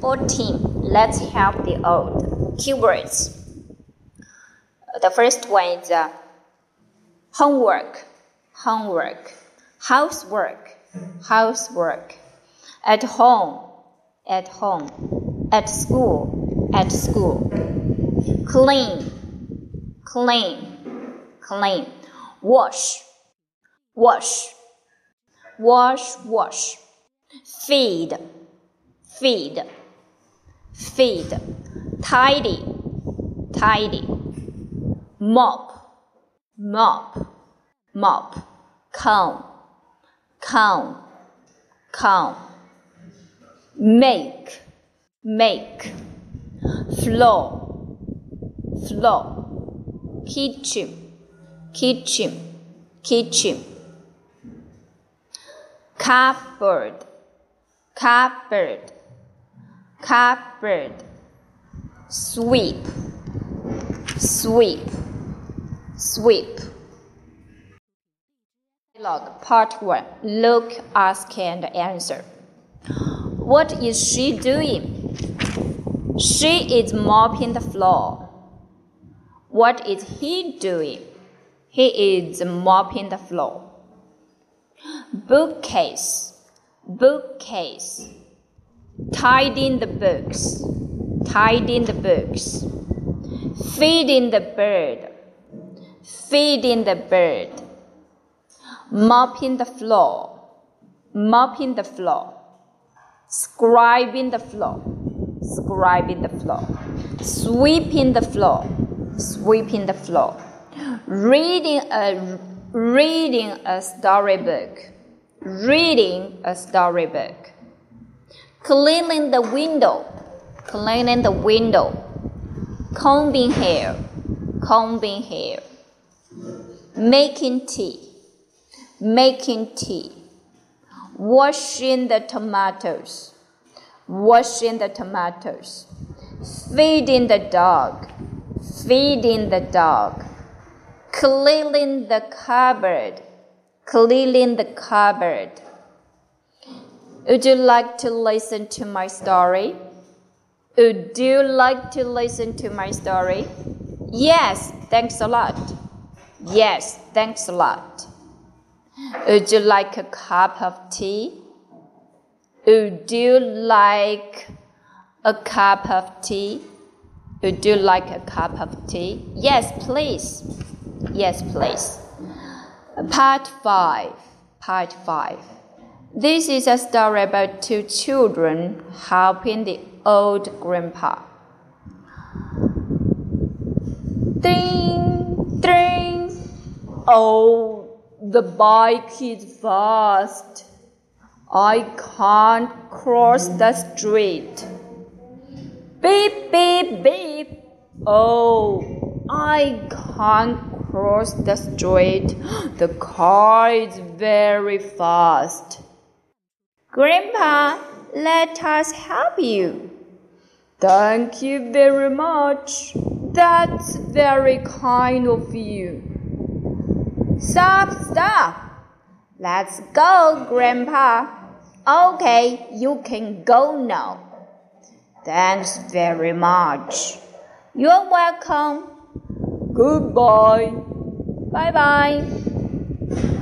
14. Let's help the old. Keywords. The first one is homework, housework, at home, at school, clean, wash, feed, tidy, mop, comb, make, floor, kitchen, cupboard, sweep. Dialogue Part 1. Look, ask, and answer. What is she doing? She is mopping the floor. What is he doing? He is mopping the floor. Bookcase, tidying the books, feeding the bird, mopping the floor, sweeping the floor, sweeping the floor, reading a storybook, cleaning the window, combing hair, making tea, washing the tomatoes, feeding the dog, cleaning the cupboard. Would you like to listen to my story? Yes, thanks a lot. Would you like a cup of tea? Yes, please. Part 5. This is a story about two children helping the old grandpa. Ding! Oh, the bike is fast. I can't cross the street. Beep. Oh, I can't cross the street. The car is very fast. Grandpa, let us help you. Thank you very much. That's very kind of you. Stop. Let's go, Grandpa. Okay, you can go now. Thanks very much. You're welcome. Goodbye. Bye-bye.